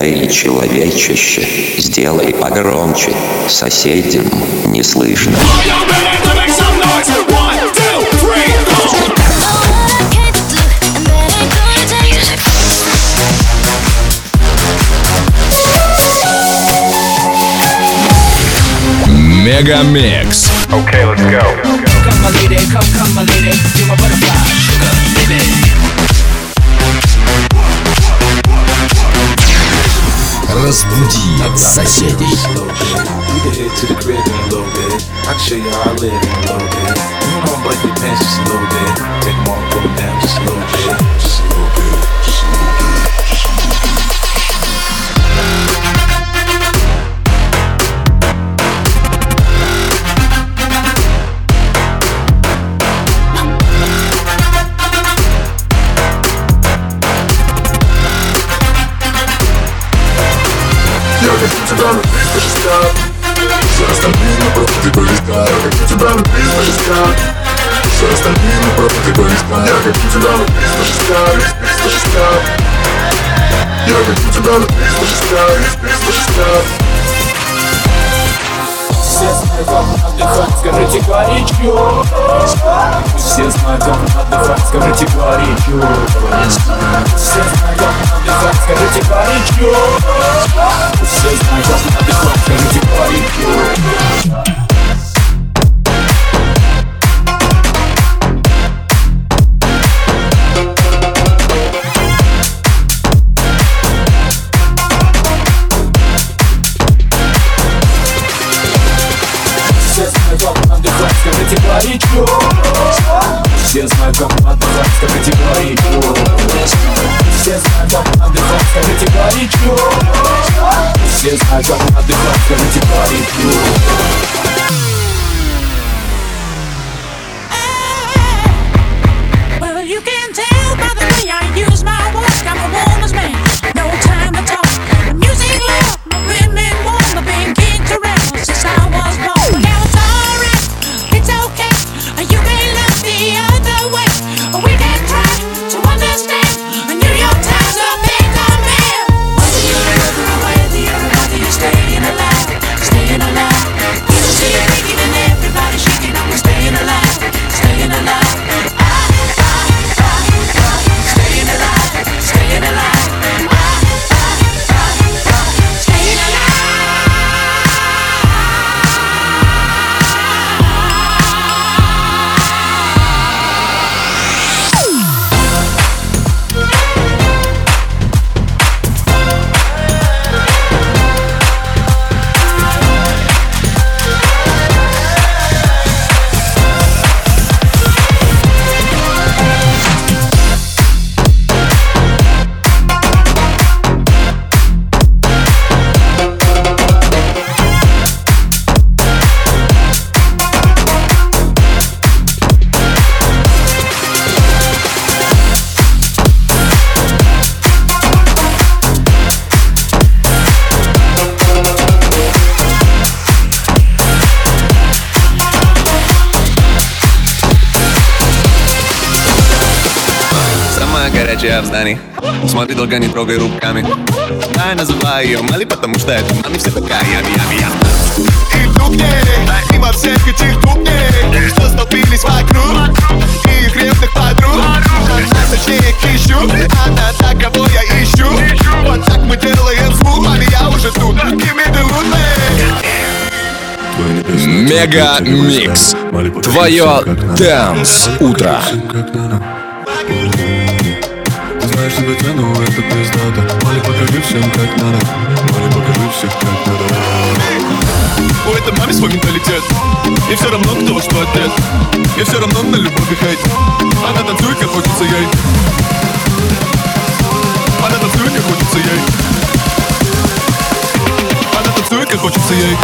Эй, человечище, сделай погромче, соседям не слышно. Мегамикс. Okay, let's go. Come my lady, come my lady, you're my butterfly, sugar, baby. Разбуди соседей. We can head to the crib in a little bit. I can show you how I live in a little bit. You know I'm button your pants just a little bit. Take them off, put them down just a little bit. Just a little bit. Just a little bit. Я хочу тебя на 360. Все остальные просто ты близка. Я хочу тебя на 360. Все остальные просто ты близка. Я хочу тебя на 360. 360. Я хочу тебя на 360. 360. Все знают, как отдыхать, скажите горячо. Все знают, как отдыхать, скажите горячо. Все знают, как отдыхать, скажите горячо. Все знают, как отдыхать, скажите горячо. Все знают, как отдыхать, скажите горячо. Все знают, как отдыхать, скажите горячо. Все знают, как отдыхать, скажите горячо. Все знают, как отдыхать, скажите горячо. Well, you can tell by the way I use my voice, I'm a woman's man, no time to talk. The music loud, my women warm, I've been kicked around since I was born. But now it's alright, it's okay, you may look the other way, we can try to understand. New York Times are big on man. Whether you're the other way or the other, whether you're staying alive, staying alive. You don't see it breaking and everybody shaking, I'm staying alive, staying alive. Staying alive, staying alive. Staying alive. Самая горячая в здании. Смотри, долго не трогай руками. Я называю ее Мали, потому что это маме все такая ями-ями-я. И вдруг ей, мимо всех этих кухней, что столпились вокруг, и их ревных подруг, а точнее их ищу, она та, кого я ищу. Вот так мы делаем звук, маме, я уже тут. Give me the root, Мегамикс. Твое Dance утро. Ты знаешь, тебя тяну, это пиздато. Мали, покажи всем, как надо. Мали, покажи всем, как надо. у этой маме свой менталитет. И все равно, кто что отец. И все равно на любовь и хейт. Она танцует, как хочется ей. Она танцует, как хочется ей. Она танцует, как хочется ей.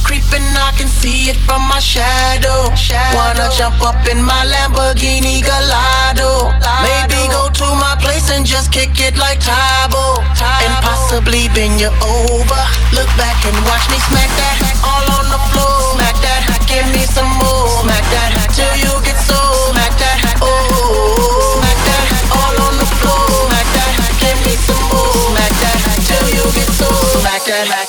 creeping, I can see it from my shadow. Wanna jump up in my Lamborghini Gallardo. Maybe go to my place and just kick it like Tybo. And possibly bend you over. Look back and watch me smack that all on the floor. Smack that, give me some more. Smack that till you get so. Smack that, oh. Smack that all on the floor. Smack that, give me some more. Smack that till you get so. Smack that.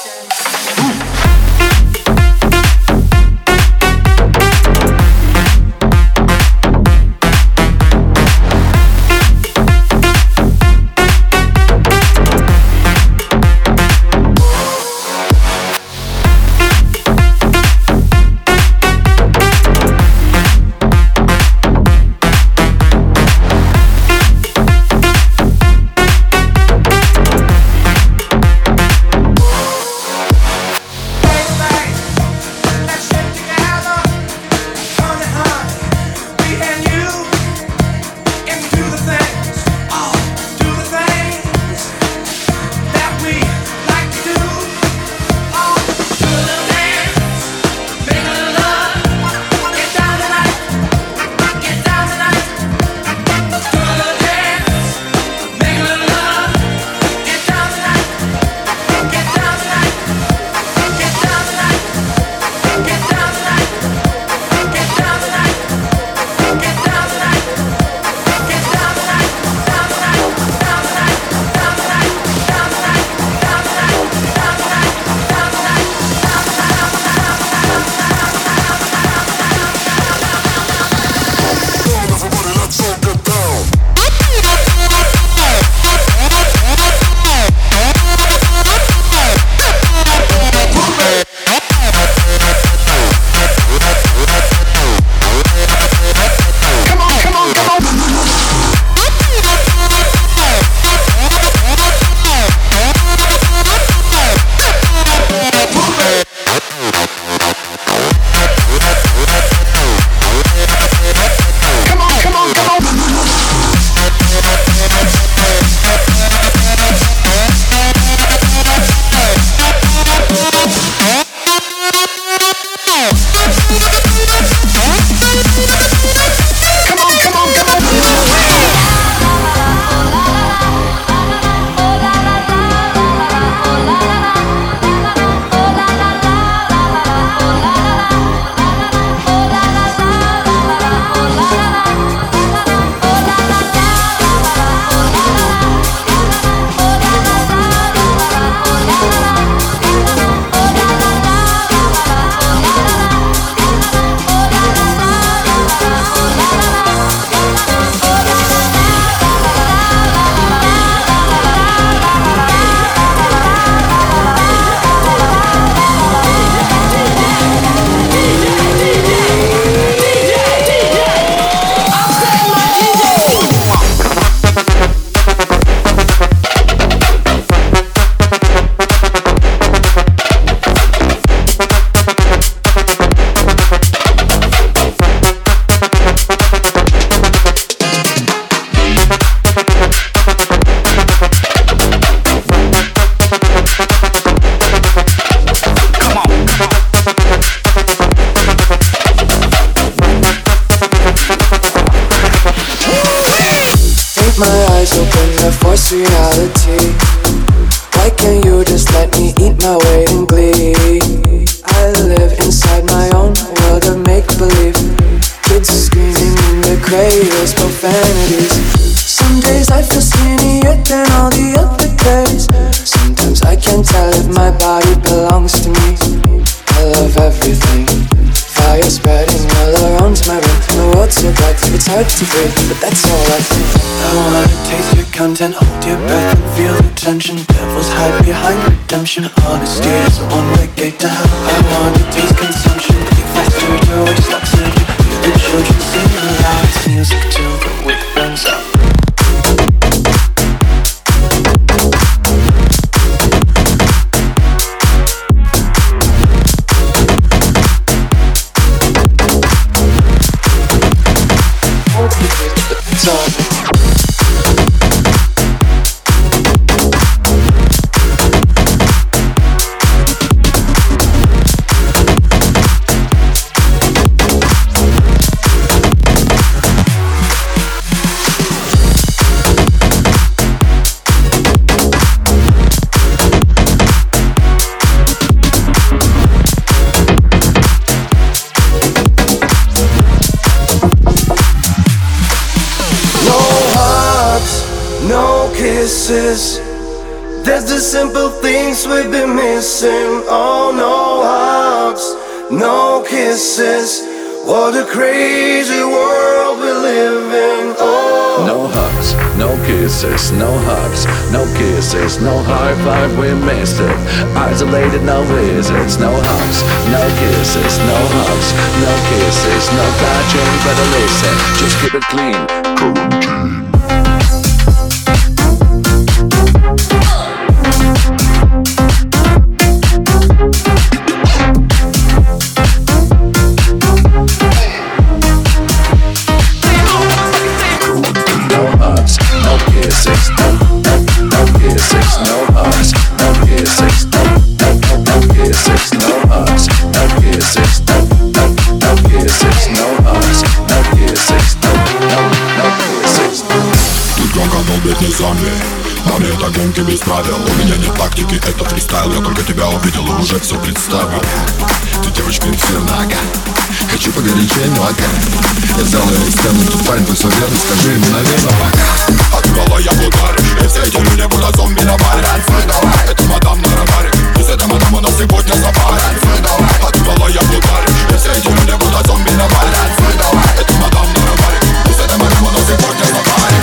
reality. Why can't you just let me eat my weight in glee? I live inside my own world of make-believe. Kids screaming in their cradles, profanities. Some days I feel skinnier than all the other days. Sometimes I can't tell if my body belongs to me. I love everything. Fire spreading all around my room. The world's so bright, it's hard to breathe, but that's all I think. I wanna taste your content, hold your breath and feel the tension. Devils hide behind redemption. Honesty is a one-way gate to hell. I wanna taste consumption. Breathe faster, your way sucks in. The children sing aloud. It's music till the wick burns out. kisses. There's the simple things we've been missing. Oh, no hugs, no kisses. What a crazy world we live in. Oh, no hugs, no kisses, no hugs, no kisses, no high five, we missed it. Isolated, no visits, no hugs, no kisses, no hugs, no kisses, no touching, better listen, just keep it clean. Quarantine. На мне это гонки без правил. У меня нет тактики, это фристайл. Я только тебя увидел и уже все представил. Ты девочка инферно, хочу погорячее, но я сделаю стену, тут парень, ты все верно. Скажи ему, наверное, пока. Отбивала я в ударе, и все эти люди будто зомби на баре. Это мадам на радаре, пусть это мадам, у нас сегодня сафари. Отбивала я в ударе, и все эти люди будто зомби на баре. Это мадам на радаре, пусть это мадам, у нас сегодня сафари.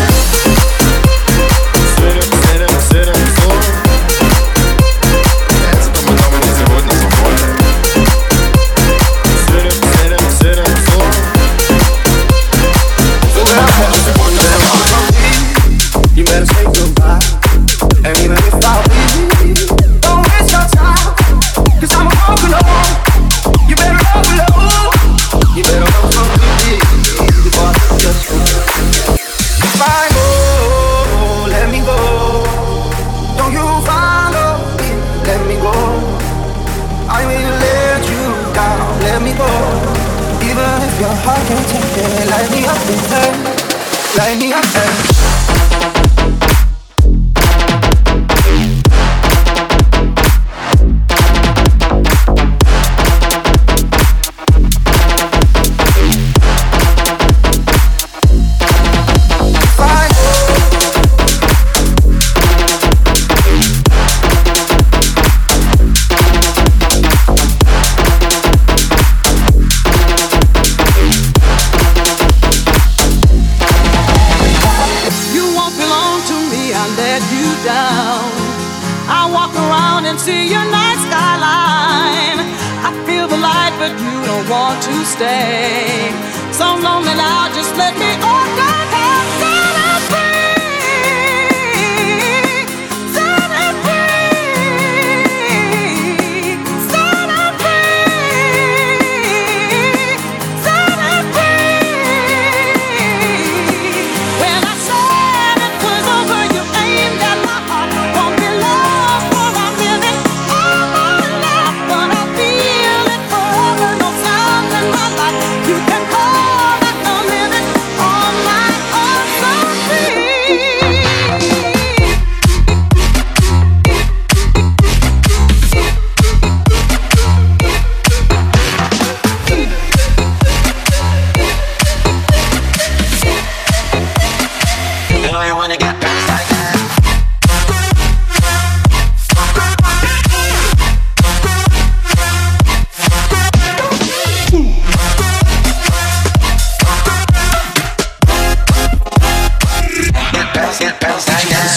Light me up, to stay. So lonely now, just let me on down. Set us free. Set us free. Set us free. Set us free. When I said it was over, you aimed at my heart. Won't be lost for a minute. All my life, but I feel it forever. No sound in my life. You can call that a minute on my own, so free. You know you wanna get past like that. Get past like that.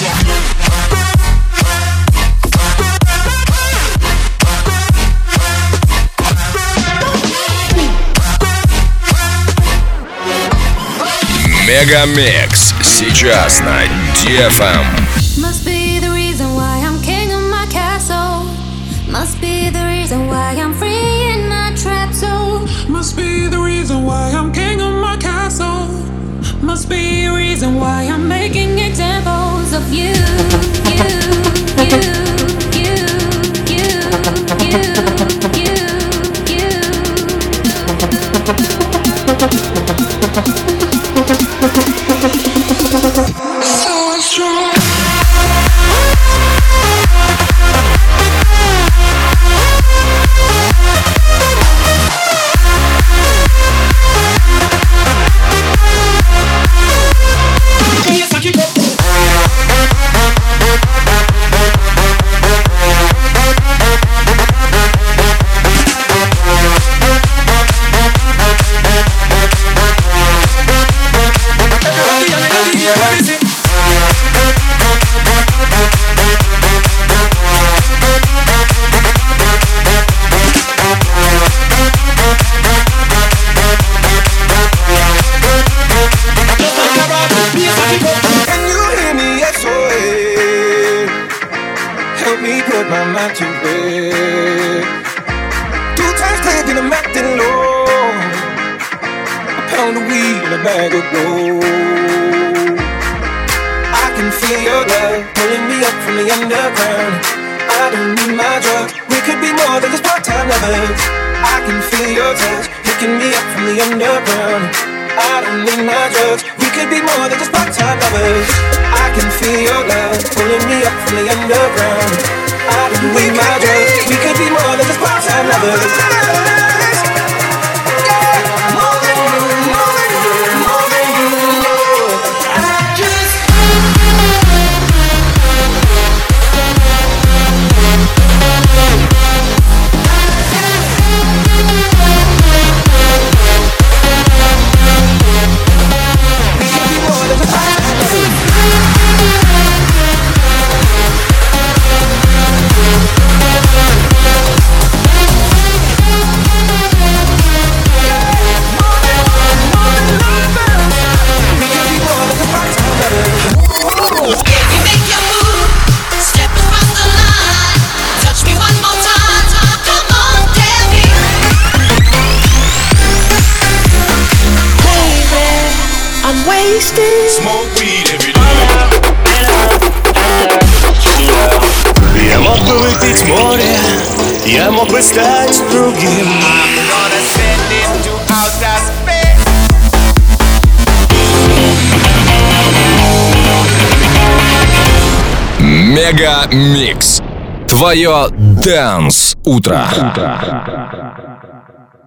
Мегамикс сейчас на DFM. Must be the reason why I'm king of my castle. Must be the reason why I'm free in my trap zone. Must be the reason why I'm king of my castle. Must be a reason why I'm making examples of you. So strong. Yes, I keep up. thinking I'm acting low. A pound of weed and a bag of gold. I can feel your love pulling me up from the underground. I don't need my drugs. We could be more than just part-time lovers. I can feel your touch picking me up from the underground. I don't need my drugs. We could be more than just part-time lovers. I can feel your love pulling me up from the underground. I don't need my drugs. We could be more than just part-time lovers. Smoke weed every day. Я мог бы выпить море, я мог бы стать другим. I'm gonna send it to outer space. Мега Микс. Твое Dance утро.